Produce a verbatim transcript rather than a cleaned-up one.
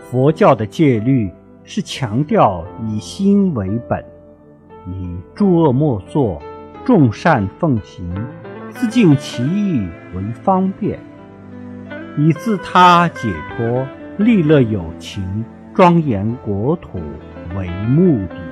佛教的戒律是强调以心为本，以诸恶莫作，众善奉行，自尽其意为方便，以自他解脱、利乐有情、庄严国土为目的。